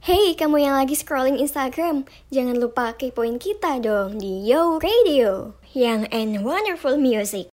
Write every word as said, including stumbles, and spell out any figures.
Hey, kamu yang lagi scrolling Instagram, jangan lupa kepoin kita dong di Yo Radio, yang and wonderful music.